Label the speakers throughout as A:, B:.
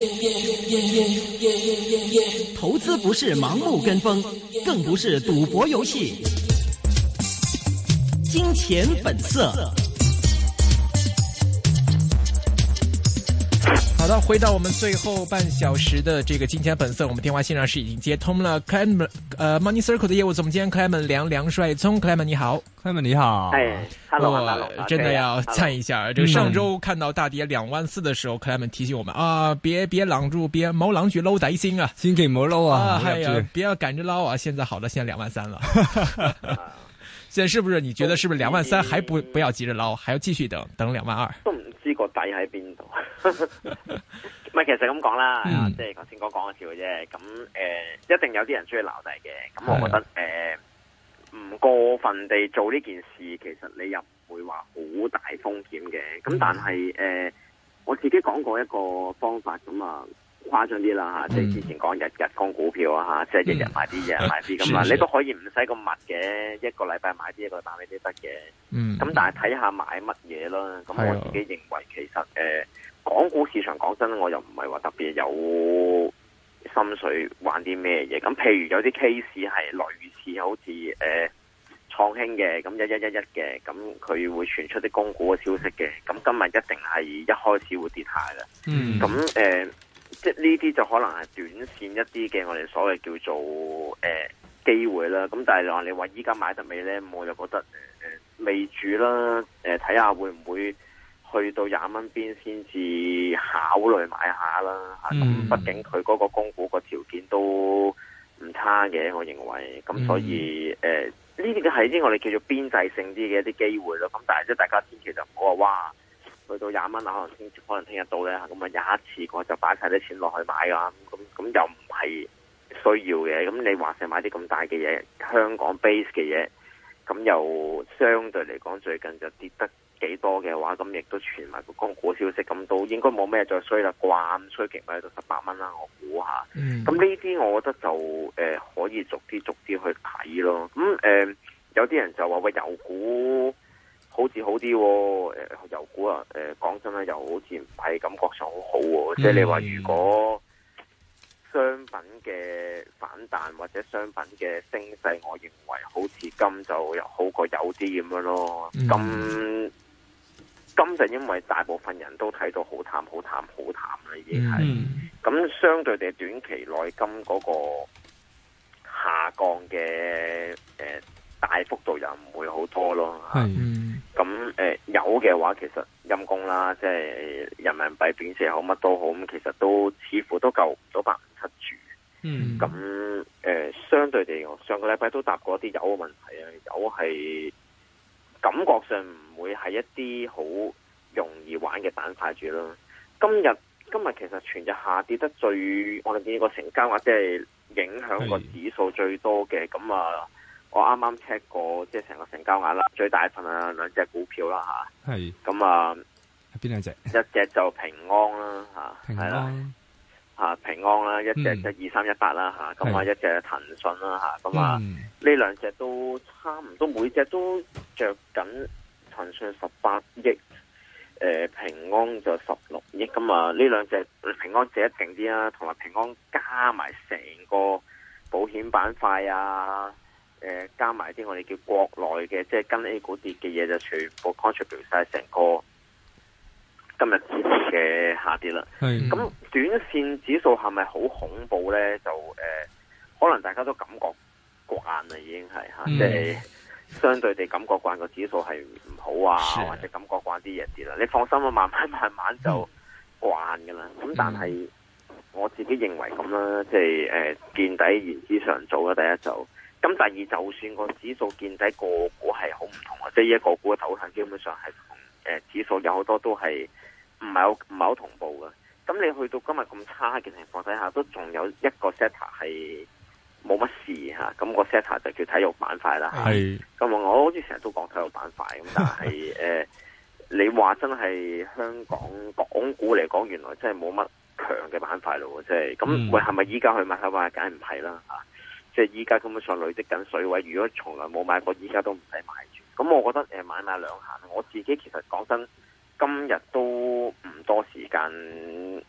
A: 投資不是盲目跟風，更不是賭博遊戲。金錢本色。
B: 好的，回到我們最後半小時的這個金錢本色，我們電話線上是已經接通了 Clement Money Circle 的業務總監 Clement 梁帥聰 Clement 你好
C: Clement 你好，
D: 哎，hello，
B: 真的要讚一下。這個上周看到大跌24000的時候，Clement 提醒我們啊，別攔住，別冇攔住撈底先啊，
C: 千祈唔好撈啊，
B: 係啊，不要趕着撈啊。現在好了，現在23000了。現在是不是你覺得是不是23000還不要急着撈，還要繼續等22000？
D: 都唔知個底喺邊度。唔係，其實咁講啦，即係頭先講講笑嘅啫。咁一定有啲人中意撈底嘅。咁我覺得唔過分地做呢件事，其實你又唔會話好大風險嘅。咁但係我自己講過一個方法咁啊。誇張啲啦吓，即係之前講日日供股票啊吓，即係日日買啲日日買啲咁啊，你都可以唔使咁密嘅，一個禮拜買啲，一個禮拜買啲都得嘅。咁但係睇下買乜嘢啦。咁我自己認為其實港股市場講真，我又唔係話特別有心水玩啲咩嘢。咁譬如有啲 case 係類似好似創興嘅，咁1111嘅，咁佢會傳出啲供股嘅消息嘅。咁今日一定係一開始會跌下嘅。咁即係呢啲就可能係短線一啲嘅，我哋所謂叫做機會啦。咁但係你話依家買得未呢？我就覺得未住啦。睇下會唔會去到20蚊邊先至考慮買下啦。咁畢竟佢嗰個供股個條件都唔差嘅，我認為。咁所以呢啲係啲我哋叫做邊際性啲嘅一啲機會咯。咁但係即係大家千祈就唔好話哇，去到20蚊啊，可能聽日到咧，咁啊有一次我就擺晒啲錢落去買噶，咁又唔係需要嘅。咁你話成買啲咁大嘅嘢，香港 base 嘅嘢，咁又相對嚟講最近就跌得幾多嘅話，咁亦都傳埋個供股消息，咁都應該冇咩再衰啦啩，咁衰極咪到18蚊啦，我估下。咁呢啲我覺得就可以逐啲去睇咯。咁有啲人就話喂，油股好似好啲，油股啊，講真啦，又好似唔係感覺上好好。即係你話如果商品嘅反彈或者商品嘅升勢，我認為好似金就又好過有啲咁樣咯。金就因為大部分人都睇到好淡啦，已經係。咁相對地，短期內金嗰個下降嘅大幅度又唔會好多咯。咁有嘅話，其實陰公啦，即係人民幣貶值好乜都好，咁其實都似乎都救唔到157住。咁相對地，我上個禮拜都答過一啲油嘅問題啊，油係感覺上唔會係一啲好容易玩嘅板塊住咯。今日其實全日下跌得最，我哋見個成交額即係影響個指數最多嘅。咁啊，我啱啱 check 過，即係成個成交額啦，最大份啊兩隻股票啦吓。係。咁啊，
C: 邊兩隻？
D: 一隻就平安啦吓，係啦。平安啦，一隻就2318啦吓，咁啊一隻騰訊啦吓，咁啊呢兩隻都差唔多，每隻都着緊騰訊18億，平安就16億，咁啊呢兩隻平安借得勁啲啦，同埋平安加埋成個保險板塊啊，加埋啲我哋叫國內嘅，即係跟 A 股跌嘅嘢，就全部 contribute 晒成個今日指數嘅下跌啦。咁短線指數係咪好恐怖呢？就可能大家都感覺慣啦，已經係吓，即係相對地感覺慣個指數係唔好啊，或者感覺慣啲嘢跌啦。你放心啊，慢慢就慣噶啦。咁但係我自己認為咁啦，即係見底言之尚早啦。第一就咁，第二就算個指數見底，個股係好唔同啊。即係一個股嘅走向基本上係同指數有好多都係唔係好同步嘅。咁你去到今日咁差嘅情況底下，都仲有一個 sector 係冇乜事吓。咁個 sector 就叫體育板塊啦。係。咁我好似成日都講體育板塊，咁但係你話真係香港股嚟講，原來真係冇乜強嘅板塊咯。即係咁，喂，係咪依家去買體育板塊？梗係唔係啦吓。即係依家根本上累積緊水位，如果從來冇買過，依家都唔使買住。咁我覺得買賣兩閒。我自己其實講真，今日都唔多時間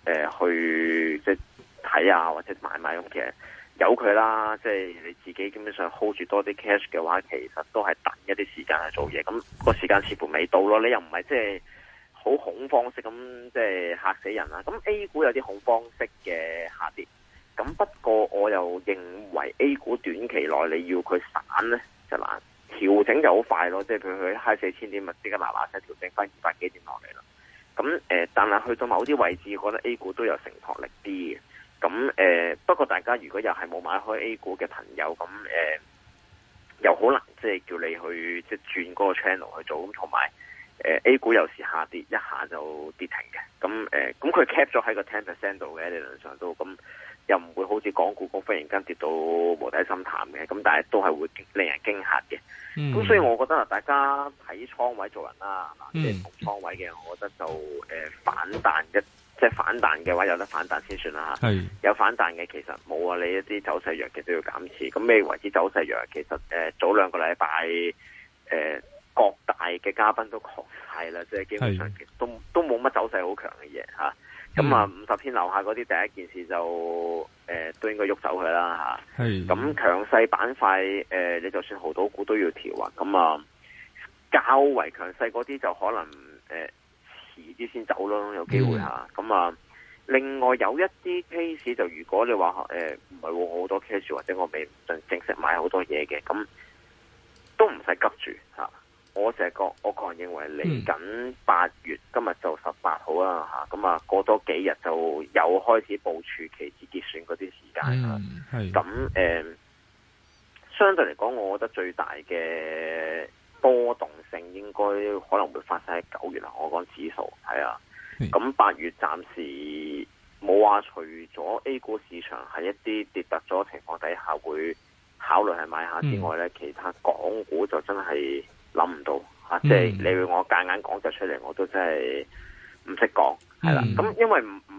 D: 去即係睇啊或者買咁，其實由佢啦，即係你自己基本上 hold 住多啲 cash 嘅話，其實都係等一啲時間去做嘢。咁個時間似乎未到咯，你又唔係即係好恐慌式咁即係嚇死人啦。咁 A 股有啲恐慌式嘅下跌，咁不過我又認為 A 股短期內你要佢散咧就難，調整就好快咯。即係譬如佢嗨4000點，咪即刻嗱嗱聲調整翻200幾點落嚟啦。咁但係去到某啲位置，我覺得 A 股都有承托力啲嘅。咁不過大家如果又係冇買開 A 股嘅朋友，咁又好難即係叫你去即係轉嗰個 channel 去做。咁同埋A 股有時下跌一下就跌停嘅。咁佢 cap 咗喺個 10% 度嘅，理論上都咁又唔會好似港股咁忽然間跌到無底深潭嘅。咁但係都係會令人驚嚇嘅。咁所以我覺得大家睇倉位做人啦，即係同倉位嘅，我覺得就反彈即係反彈嘅話有得反彈先算啦嚇。有反彈嘅其實冇啊，你一啲走勢弱嘅都要減持。咁咩為之走勢弱？其實早2個禮拜各大嘅嘉賓都講晒啦，即係基本上其實都冇乜走勢好強嘅嘢嚇。咁啊50天樓下嗰啲第一件事就都應該喐走佢啦嚇。咁強勢板塊你就算濠賭股都要調啊。咁啊較為強勢嗰啲就可能遲啲先走咯，有機會嚇。咁啊另外有一啲 case 就如果你話唔係我好多 case 或者我未正式買好多嘢嘅，咁都唔使急住嚇。我個人認為嚟緊8月，今日就18號啦嚇，咁啊過多幾日就又開始部署期指結算嗰啲時間啦。咁相對嚟講，我覺得最大嘅波動性應該可能會發生喺9月啦。我講指數係啊，咁8月暫時冇話除咗 A 股市場係一啲跌突咗情況底下會考慮係買下之外咧，其他港股就真係諗唔到嚇，即係你要我夾硬講就出嚟，我都真係唔識講，係啦。咁因為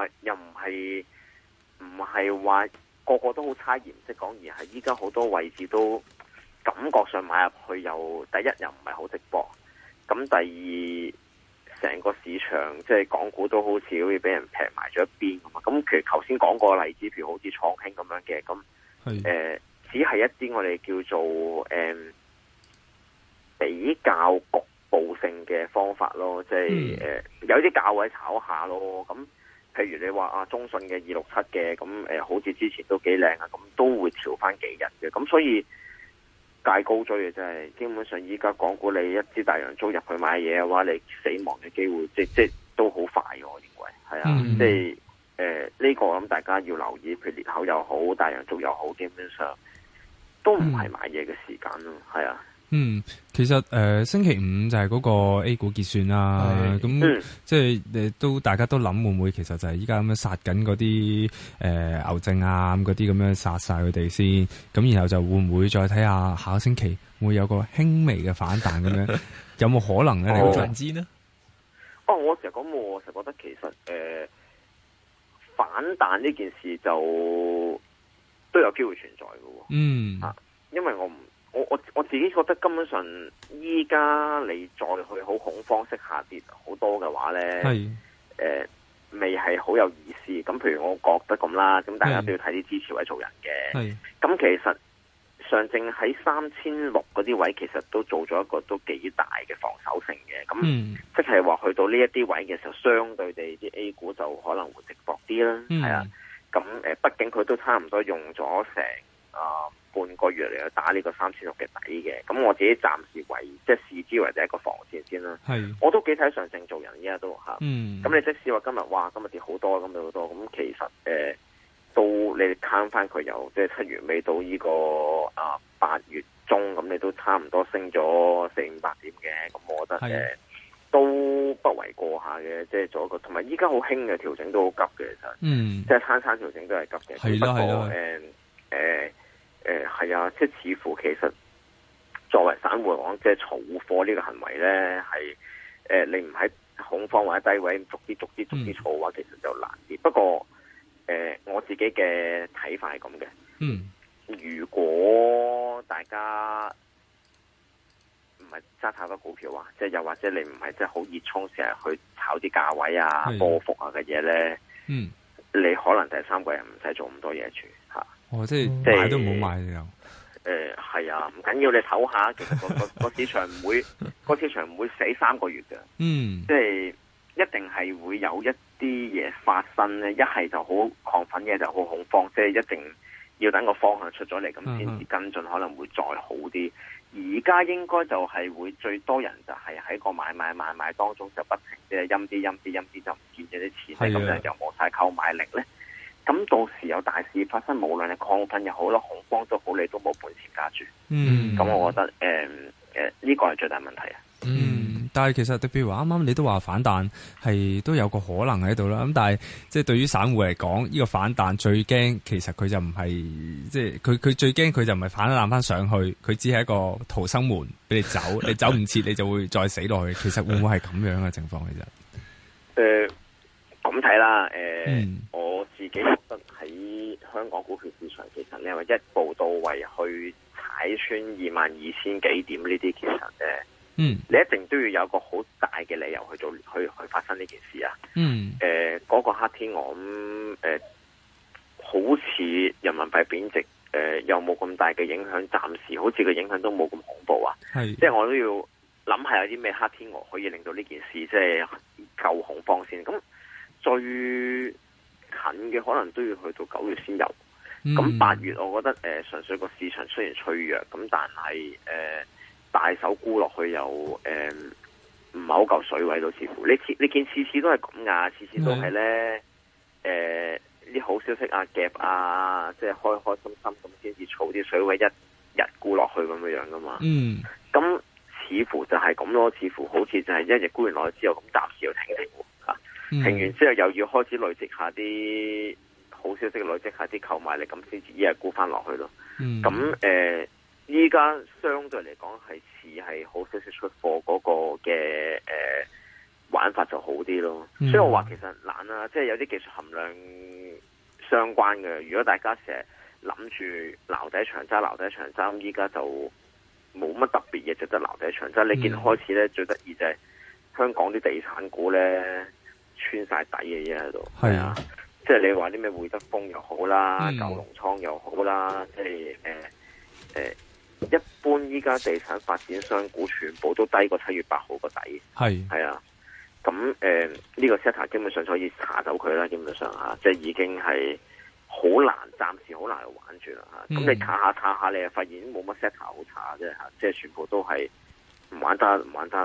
D: 唔係話個個都好差異唔識講，而係依家好多位置都感覺上買入去又第一又唔係好直播，咁第二成個市場即係港股都好似俾人劈埋咗一邊咁啊。咁其實頭先講過個例子，譬如好似創興咁樣嘅，咁只係一啲我哋叫做比較局部性嘅方法咯，即係有啲價位炒下咯。咁譬如你話中信嘅267嘅，咁好似之前都幾靚啊，咁都會調翻幾日嘅。咁所以戒高追嘅真係，基本上依家港股你一支大洋燭入去買嘢嘅話，你死亡嘅機會即都好快嘅，我認為係啊。即係呢個我諗大家要留意，譬如裂口又好，大洋燭又好，基本上都唔係買嘢嘅時間咯，係啊。
C: 其實星期五就係嗰個 A 股結算啦，咁即係都大家都諗會唔會其實就係依家咁樣殺緊嗰啲牛證啊咁嗰啲咁樣殺晒佢哋先，咁然後就會唔會再睇下下個星期會有個輕微嘅反彈咁樣，有冇可能咧？你個認知呢？
D: 我成日講我成日覺得其實反彈呢件事就都有機會存在嘅，因為我自己覺得根本上依家你再去好恐慌式下跌好多嘅話咧，未係好有意思。咁譬如我覺得咁啦，咁大家都要睇啲支持位做人嘅。咁其實上證喺3600嗰啲位，其實都做咗一個都幾大嘅防守性嘅。咁即係話去到呢一啲位嘅時候，相對地啲 A 股就可能會值博啲啦。係啊，咁畢竟佢都差唔多用咗成半個月嚟去打呢個3600嘅底嘅，咁我自己暫時為即係視之為第一個防線先啦。我都幾睇上證做人，依家都嚇。咁你即使話今日跌好多，咁跌好多，咁其實都你攤翻佢由即係7月尾到呢個8月中，咁你都差唔多升咗400-500點嘅，咁我覺得都不為過下嘅，即係做一個同埋依家好興嘅調整都好急嘅，其實即係餐調整都係急嘅。係咯。係啊，即係似乎其實作為散戶嚟講，即係儲貨呢個行為咧，係你唔喺恐慌或者低位逐啲儲嘅話，其實就難啲。不過我自己嘅睇法係咁嘅。如果大家唔係揸太多股票啊，即係又或者你唔係即係好熱衷成日去炒啲價位啊、波幅啊嘅嘢咧， 你可能第三季唔使做咁多嘢住吓。
C: 即係買都唔好買又。
D: 係啊，唔緊要，你唞下，其實個市場唔會個市場唔會死3個月嘅。即係一定係會有一啲嘢發生咧，一係就好亢奮嘅，就好恐慌，即係一定要等個方向出咗嚟，咁先至跟進，可能會再好啲。而家應該就係會最多人就係喺個買當中就不停即係陰啲就唔見咗啲錢，咁就又冇晒購買力咧。咁到時有大事發生，無論係亢奮又好啦，恐慌都好，你都冇本錢加注。咁我覺得呢個係最大問題啊。
C: 但係其實譬如話啱啱你都話反彈係都有個可能喺度啦。咁但係即係對於散戶嚟講，呢個反彈最驚其實佢就唔係即係佢最驚佢就唔係反彈翻上去，佢只係一個逃生門俾你走，你走唔切你就會再死落去。其實會唔會係咁樣嘅情況其實？
D: 咁睇啦。我自己覺得喺香港股票市場，其實你話一步到位去踩穿22,000幾點呢啲，其實你一定都要有個好大嘅理由去發生呢件事啊。嗰個黑天鵝咁好似人民幣貶值，又冇咁大嘅影響，暫時好似個影響都冇咁恐怖啊。即係我都要諗下有啲咩黑天鵝可以令到呢件事即係夠恐慌先。咁最近嘅可能都要去到9月先有。咁8月我覺得純粹個市場雖然脆弱，咁但係大手沽落去又唔係好夠水位，都似乎你見次次都係咁噶，次次都係咧啲好消息啊夾啊，即係開開心心咁先至儲啲水位，一日沽落去咁樣噶嘛。咁似乎就係咁咯，似乎好似就係一日沽完落去之後，咁暫時要停停完之後又要開始累積下啲好消息，累積下啲購買力，咁先至一日沽翻落去咯。咁依家相對嚟講係似係好消息出貨嗰個嘅玩法就好啲咯。所以我話其實難啦，即係有啲技術含量相關嘅。如果大家成日諗住撈底長揸，依家就冇乜特別嘢值得撈底長揸。你見開始咧最得意就係香港啲地產股咧穿晒底嘅嘢喺度。係啊，即係你話啲咩會德豐又好啦，九龍倉又好啦，即係一般依家地產發展商股全部都低過7月8號個底。係啊，咁呢個 set 基本上可以查走佢啦，基本上即係已經係好難，暫時好難去玩住啦。咁你查下，你又發現冇乜 set 好查啫，即係全部都係唔玩得。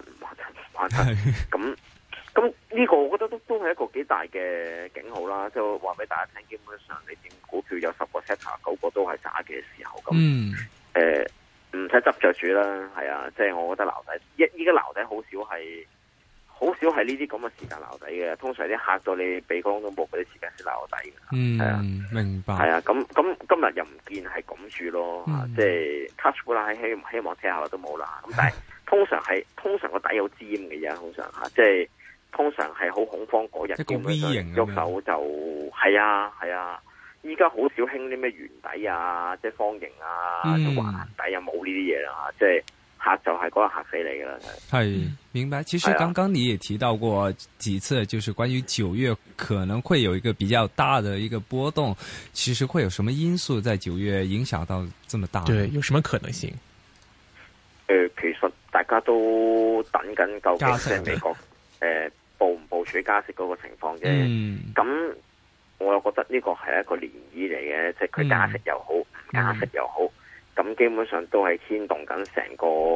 D: 咁呢個我覺得都係一個幾大嘅警號啦，即係話俾大家聽，基本上你點股票有10個 set 9個都係渣嘅時候，咁唔使執着住啦。係啊，即係我覺得撈底依家撈底好少係呢啲咁嘅時間撈底嘅，通常啲嚇到你鼻光都冇嗰啲時間先撈底嘅。係啊，
C: 明白。係
D: 啊，咁今日又唔見係咁住咯。即係 touch 啦，希望聽下都冇啦。咁但係通常個底有尖嘅嘢，通常即係通常係好恐慌嗰日，
C: 一個 V 型
D: 喐手就係啊。依家好少興啲咩圓底啊，即係方形啊，橫底啊，冇呢啲嘢啦。即係嚇就係嗰日嚇死你噶啦。
C: 係明白。其實剛剛你也提到過幾次，就是關於9月可能會有一個比較大的一個波動。其實會有什麼因素在9月影響到這麼大？
B: 對，有什麼可能性？
D: 其實大家都等緊究竟即係美國部唔部署加息嗰個情況啫。咁我又覺得呢個係一個漣漪嚟嘅，即係佢加息又好，唔加息又好，咁基本上都係牽動緊成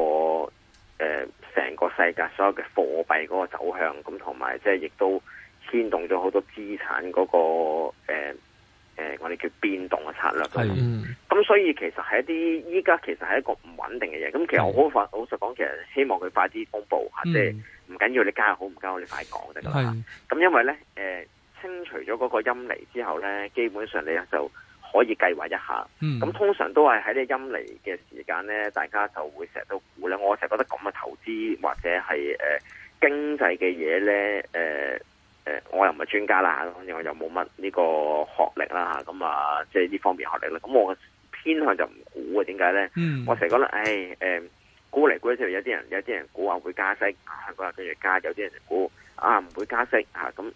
D: 個世界所有嘅貨幣嗰個走向，咁同埋即係亦都牽動咗好多資產嗰個我哋叫變動嘅策略。咁所以其實係一啲依家其實係一個唔穩定嘅嘢。咁其實我好老實講，其實希望佢快啲公布吓，即係唔緊要你加好唔加好，你快講得噶啦。咁因為咧清除咗嗰個陰嚟之後咧，基本上你就可以計劃一下。咁通常都係喺呢陰嚟嘅時間咧，大家就會成日都估咧。我成日覺得咁嘅投資或者係經濟嘅嘢咧，我又唔係專家啦，反正我又冇乜呢個學歷啦，咁啊，即係呢方面學歷啦。咁我偏向就唔估嘅，點解咧？我成日覺得，估嚟估去，有啲人估話會加息，香港人跟住加；有啲人估唔會加息咁。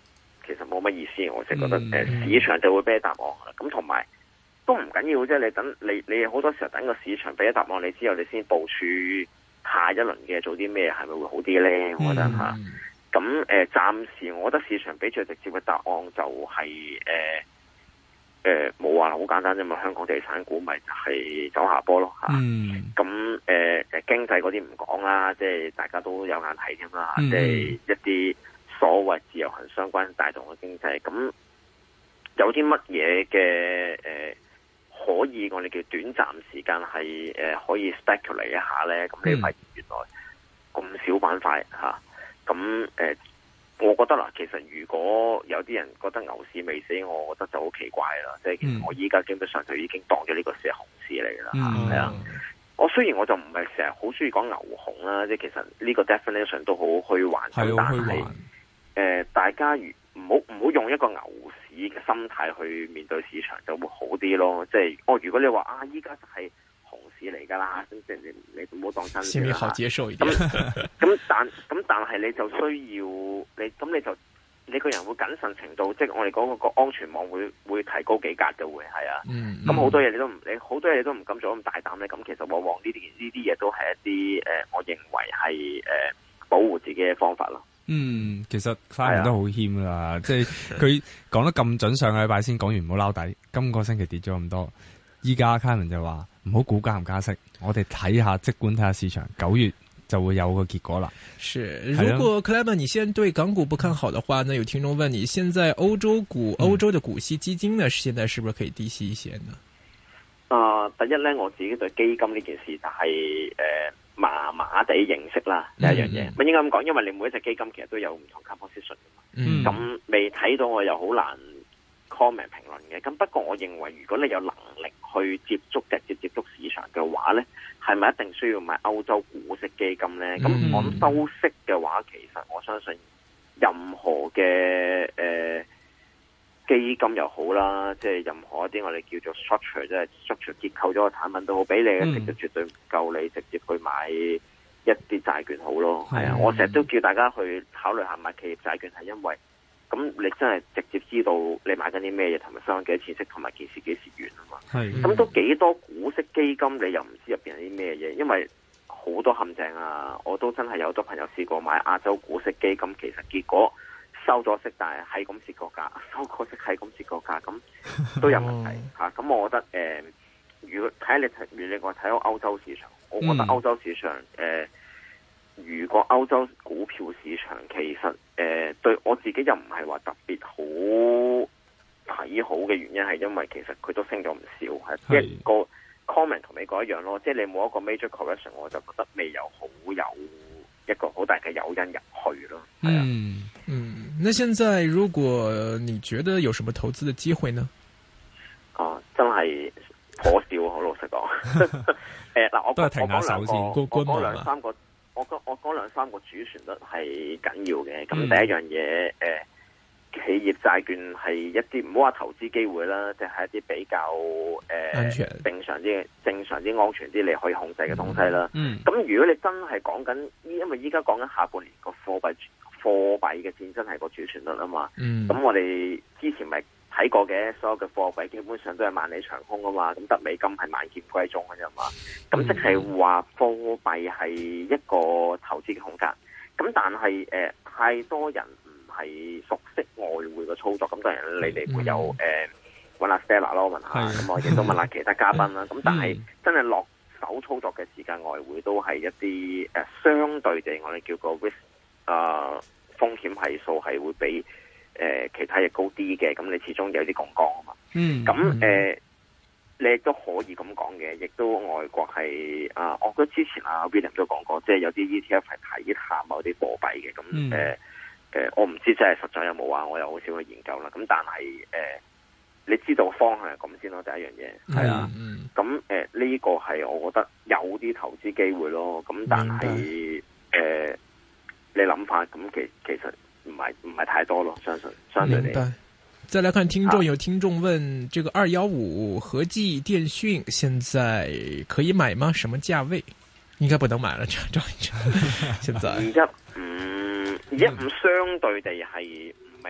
D: 其實冇乜意思。我就覺得市場就會俾答案啦。咁同埋都唔緊要啫，你等你好多時候等個市場俾答案你之後，你先部署下一輪嘅做啲咩，係咪會好啲咧？我覺得吓。咁暫時我覺得市場俾最直接嘅答案就係冇話好簡單啫嘛。香港地產股咪就係走下坡咯吓。咁經濟嗰啲唔講啦，即係大家都有眼睇添啦。即係一啲所謂自由行相關帶動嘅經濟，咁有啲乜嘢嘅可以我哋叫短暫時間係可以 speculate 一下咧？咁你發現原來咁少板塊吓。咁我覺得啦，其實如果有啲人覺得牛市未死，我覺得就好奇怪啦。即係其實我依家基本上就已經當咗呢個市係熊市嚟啦。係啊，我雖然我就唔係成日好中意講牛熊啦，即係其實呢個 definition 都好虛幻。但係大家唔好用一個牛市嘅心態去面對市場，就會好啲咯。即係如果你話依家就係熊市嚟噶啦，咁即係你唔好當真。
B: 心裡好接受一點。
D: 但係你就需要你個人會謹慎程度，即係我哋講個安全網會提高幾格嘅會係啊。咁好多嘢你好多嘢都唔敢做咁大膽咧。咁其實往往呢啲嘢都係一啲我認為係保護自己嘅方法咯。
C: 其實 Clement 都好謙啦，即係佢講得咁準，上個禮拜先講完唔好撈底，今個星期跌咗咁多，依家 Clement 就話唔好估加唔加息，我哋睇下即管睇下市場，9月就會有個結果啦。
B: 是，如果 Clement 你現在對港股不看好的話，那有聽眾問你，現在歐洲的股息基金呢，現在是不是可以低息一些呢？
D: 第一咧，我自己對基金呢件事就係麻麻地認識啦，第一樣嘢。應該咁講，因為你每一隻基金其實都有唔同 composition 嘅嘛。咁未睇到我又好難 comment 評論嘅。咁不過我認為，如果你有能力去直接接觸市場嘅話咧，係咪一定需要買歐洲股息基金咧？咁我諗收息嘅話，其實我相信任何嘅基金又好啦，即係任何一啲我哋叫做 structure， 即係 structure 結構咗個產品都好，俾你嘅息就絕對唔夠你直接去買一啲債券好咯。係啊，我成日都叫大家去考慮下買企業債券，係因為咁你真係直接知道你買緊啲咩嘢，同埋收緊幾多錢息，同埋件事幾時完啊嘛。咁都幾多股息基金你又唔知入邊係啲咩嘢，因為好多陷阱啊！我都真係有好多朋友試過買亞洲股息基金，其實結果收咗息，但係咁蝕個價，收個息係咁蝕個價，咁都有問題吓。咁我覺得如果睇你話睇歐洲市場，我覺得歐洲市場如果歐洲股票市場其實對我自己又唔係話特別好睇好嘅原因，係因為其實佢都升咗唔少，係一個 comment 同美國一樣咯，即係你冇一個 major correction， 我就覺得未有一個好大嘅誘因入去咯。
B: 那現在如果你覺得有什麼投資的機會呢？
D: 真係可笑，好老實講。嗱，我講兩三個，我講兩三個主旋律係緊要嘅。咁第一樣嘢，企業債券係一啲唔好話投資機會啦，即係一啲比較
B: 安全、
D: 正常啲、安全啲，你可以控制嘅東西啦。咁如果你真係講緊，因為依家講緊下半年個貨幣嘅戰爭係個主旋律啊嘛。咁我哋之前咪睇過嘅，所有嘅貨幣基本上都係萬里長空啊嘛。咁得美金係萬劍歸宗嘅啫嘛。咁即係話貨幣係一個投資嘅空間。咁但係太多人係熟悉外匯嘅操作，咁當然你哋會有揾阿 Stella 咯，問下，咁我亦都問下其他嘉賓啦。咁但係真係落手操作嘅時間，外匯都係一啲相對地，我哋叫個 risk 風險係數係會比其他嘢高啲嘅。咁你始終有啲槓桿啊嘛。咁你亦都可以咁講嘅，亦都外國係我覺得之前William 都講過，即係有啲 ETF 係睇下某啲貨幣嘅。咁我唔知真係實在有冇我又好少去研究啦。咁但係你知道方向係咁先咯，第一樣嘢係啊。咁呢個係我覺得有啲投資機會咯。咁但係你諗法咁其實唔係太多咯，相對你。
B: 再來看聽眾，有聽眾問：這個215和記電訊現在可以買嗎？什麼價位？應該不能買了，這現在215
D: 相對地係唔係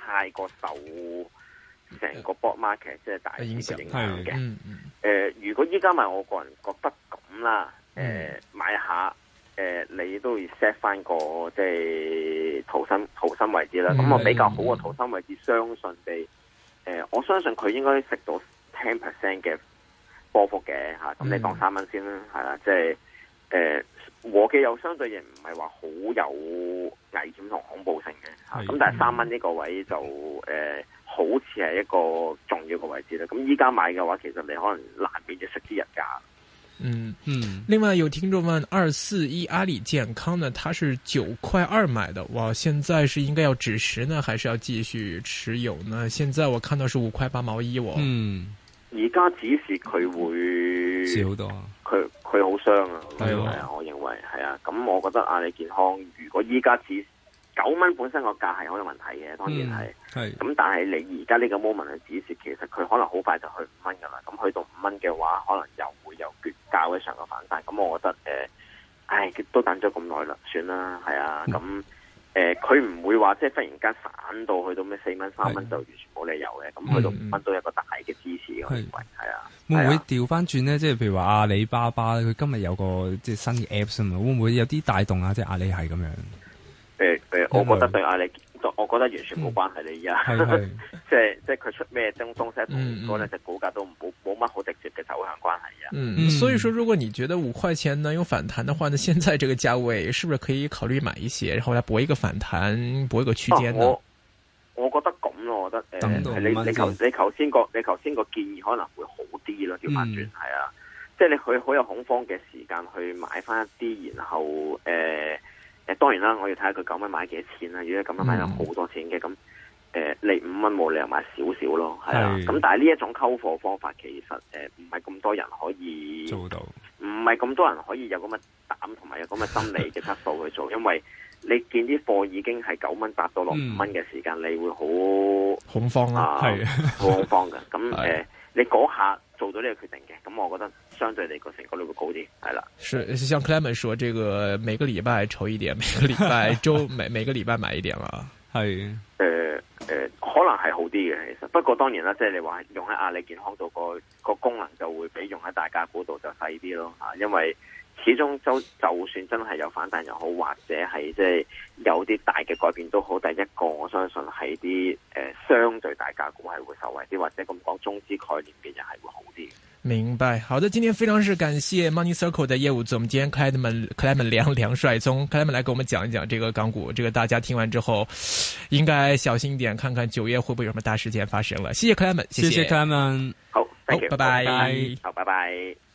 D: 太過受成個 board market 即係大市嘅影響嘅。如果依家買，我個人覺得咁啦，買下，你都要 set 翻個即係逃生位置啦。咁我比較好嘅逃生位置，相信地，我相信佢應該食到 10% 嘅波幅嘅吓。咁你當3蚊先啦，係啦，即係和記又相對亦唔係話好有危險同恐怖性嘅吓。咁但係3蚊呢個位就好似係一個重要嘅位置啦。咁依家買嘅話，其實你可能難免就食啲日價。
B: 另外有聽眾問241阿里健康呢，它是9.2塊買的，哇，現在是應該要止蝕呢，還是要繼續持有呢？現在我看到是5塊8毛1喎。
D: 而家止蝕佢會
C: 少好多，
D: 佢好傷啊，係啊，我認為係啊。咁我覺得阿里健康如果依家止9蚊本身個價係好有問題嘅，當然係。咁但係你而家呢個 moment 去止蝕，其實佢可能好快就去5蚊噶啦。咁去到5蚊嘅話，可能又會有較嘅上嘅反彈。咁我覺得都等咗咁耐啦，算啦，係啊。咁佢唔會話即係忽然間散到去到咩4蚊3蚊就完全冇理由嘅。咁去到5蚊都有一個大嘅支持，我認為係啊。
C: 會唔會調翻轉咧？即係譬如話阿里巴巴佢今日有個即係新嘅 apps 啊嘛，會唔會有啲帶動啊？即係阿里係咁樣。
D: 我覺得對阿里，我覺得完全冇關係。你而家即係佢出咩東西同嗰兩隻股價都冇乜好直接嘅走向關係啊。
B: 所以說，如果你覺得5塊錢能有反彈的話，呢現在這個價位是不是可以考慮買一些，然後來搏一個反彈，搏一個區間呢？
D: 我覺得咁咯，我覺得你頭先個建議可能會好啲咯，調翻轉係啊，即係你佢好有恐慌嘅時間去買翻一啲，然後當然啦，我要睇下佢9蚊買幾多錢啦。如果9蚊買咗好多錢嘅，咁你5蚊冇理由買少少咯，係啊。咁但係呢一種溝貨方法，其實唔係咁多人可以做到，唔係咁多人可以有咁嘅膽同埋有咁嘅心理嘅質素去做，因為你見啲貨已經係9蚊達到落5蚊嘅時間，你會好
B: 恐慌啊，係
D: 好恐慌嘅。咁你嗰下做到呢個決定嘅，咁我覺得相對嚟個成功率會高啲，係啦。
B: 是像 Clement 說，這個每個禮拜抽一點，每個禮拜周每個禮拜買一點啦。係
D: 可能係好啲嘅，其實不過當然啦，即係你話用喺阿里健康度個功能就會比用喺大家股度就細啲咯嚇，因為始終就算真係有反彈又好，或者係即係有啲大嘅改變都好，第一個我相信係啲相對大價股係會受惠啲，或者咁講中資概念嘅人係會好啲。
B: 明白，好的，今天非常是感謝 Money Circle 的業務總監 Clement 梁帥聰 Clement 來給我們講一講這個港股，這個大家聽完之後應該小心一點，看看9月會不會有什麼大事件發生了。謝謝 Clement，謝謝
C: Clement，
D: 好，thank you，
B: 拜拜，
D: 好，拜拜。